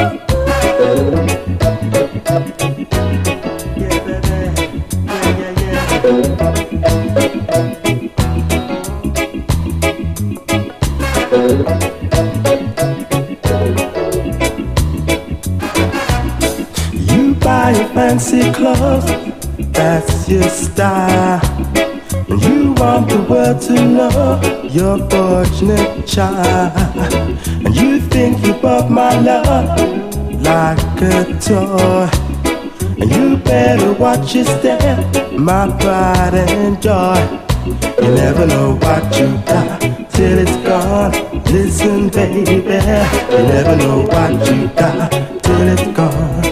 You buy your fancy clothes, that's your style. And you want the world to know you're a fortunate child. And you think you bought my love like a toy. And you better watch your step, my pride and joy. You never know what you got till it's gone. Listen, baby, you never know what you got till it's gone.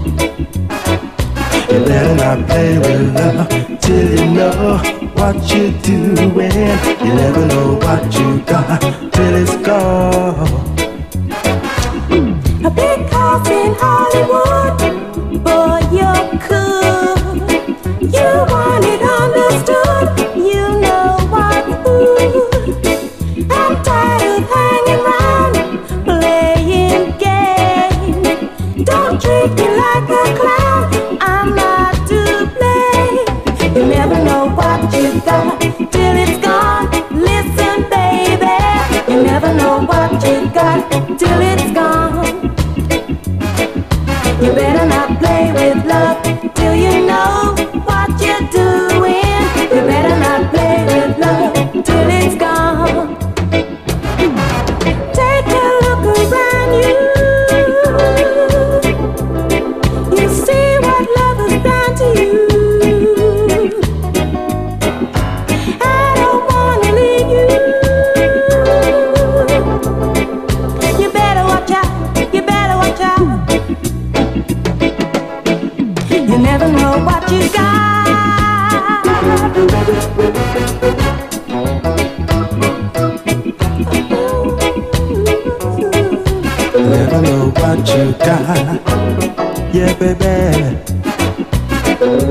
You better not play with love till you know what you're doing. You never know what you got till it's gone. A big house in Hollywood, boy, you're cool. You want it understood, you know what's good. I'm tired of hanging round, playing games. Don't treat me like a clown, I'm not to blame. You never know what you got till it's gone. Listen, baby, you never know what you got till it's gone. You better not play with love till you know what you're doing. You better not play with love till it's gone. Take a look around you. You see what love has done to you. I don't wanna leave you. You better watch out. You better watch out. You never know what you got. Never know what you got. Yeah, baby.